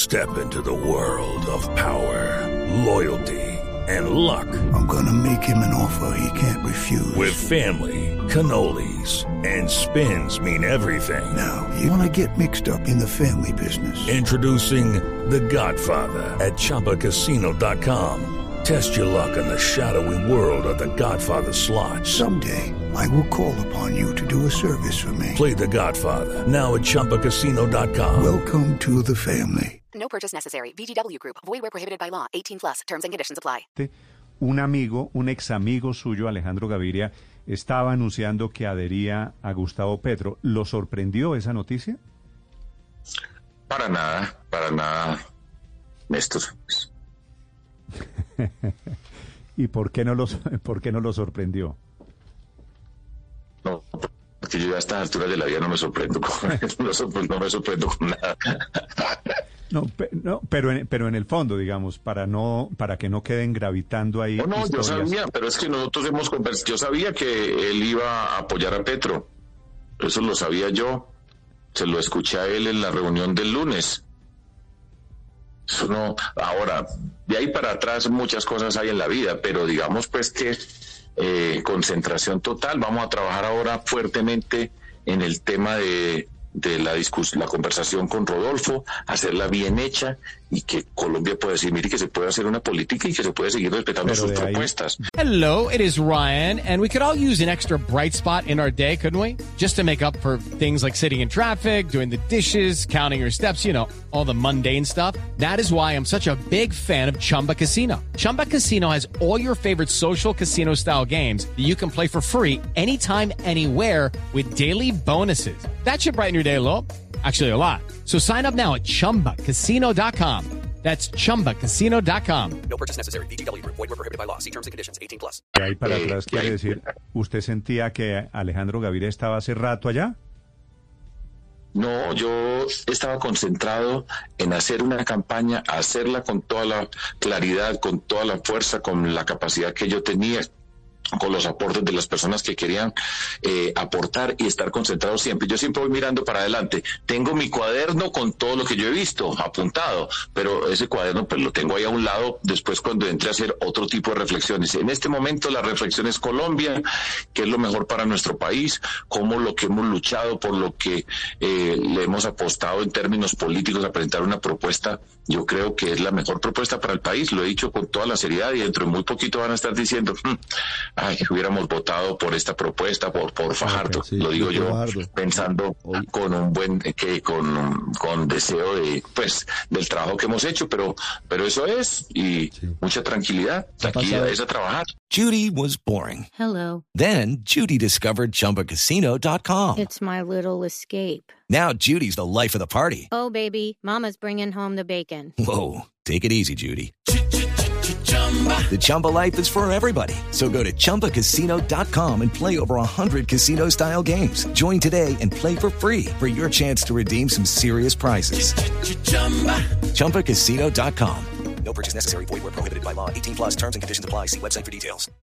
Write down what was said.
Step into the world of power, loyalty, and luck. I'm gonna make him an offer he can't refuse. With family, cannolis, and spins mean everything. Now, you wanna get mixed up in the family business. Introducing The Godfather at ChumbaCasino.com. Test your luck in the shadowy world of The Godfather slot. Someday, I will call upon you to do a service for me. Play The Godfather now at ChumbaCasino.com. Welcome to the family. No purchase necessary. VGW Group. Void where prohibited by law. 18+. Terms and conditions apply. Un amigo, un ex amigo suyo, Alejandro Gaviria, estaba anunciando que adhería a Gustavo Petro. ¿Lo sorprendió esa noticia? Para nada, Néstor. ¿Y por qué no lo sorprendió? No, porque yo a estas alturas de la vida no me sorprendo no me sorprendo con nada. Pero en el fondo, digamos, para que no queden gravitando ahí. No, historias. Yo sabía, pero es que nosotros hemos conversado. Yo sabía que él iba a apoyar a Petro. Eso lo sabía yo. Se lo escuché a él en la reunión del lunes. Eso no. Ahora, de ahí para atrás muchas cosas hay en la vida, pero digamos pues que concentración total. Vamos a trabajar ahora fuertemente en el tema de la conversación con Rodolfo, hacerla bien hecha y que Colombia pueda decir, mire, que se puede hacer una política y que se puede seguir respetando sus propuestas. Hello, it is Ryan, and we could all use an extra bright spot in our day, couldn't we? Just to make up for things like sitting in traffic, doing the dishes, counting your steps, you know, all the mundane stuff. That is why I'm such a big fan of Chumba Casino. Chumba Casino has all your favorite social casino-style games that you can play for free anytime, anywhere with daily bonuses. That should brighten your day a little. Actually, a lot. So sign up now at ChumbaCasino.com. That's ChumbaCasino.com. No purchase necessary. VGW Group. Void where prohibited by law. See terms and conditions. 18+. De ahí para atrás quiere decir, ¿usted sentía que Alejandro Gaviria estaba hace rato allá? No, yo estaba concentrado en hacer una campaña, hacerla con toda la claridad, con toda la fuerza, con la capacidad que yo tenía, con los aportes de las personas que querían aportar y estar concentrados siempre. Yo siempre voy mirando para adelante. Tengo mi cuaderno con todo lo que yo he visto apuntado, pero ese cuaderno pues lo tengo ahí a un lado después cuando entre a hacer otro tipo de reflexiones. En este momento la reflexión es Colombia, qué es lo mejor para nuestro país, cómo lo que hemos luchado, por lo que le hemos apostado en términos políticos a presentar una propuesta. Yo creo que es la mejor propuesta para el país, lo he dicho con toda la seriedad y dentro de muy poquito van a estar diciendo hubiéramos votado por esta propuesta, por Fajardo, sí, lo digo yo, pensando con un buen, con deseo del trabajo que hemos hecho, pero eso es, y mucha tranquilidad, aquí es a trabajar. Judy was boring. Hello. Then Judy discovered ChumbaCasino.com. It's my little escape. Now Judy's the life of the party. Oh, baby, mama's bringing home the bacon. Whoa, take it easy, Judy. The Chumba life is for everybody. So go to ChumbaCasino.com and play over 100 casino-style games. Join today and play for free for your chance to redeem some serious prizes. ChumbaCasino.com. No purchase necessary. Void where prohibited by law. 18+. Terms and conditions apply. See website for details.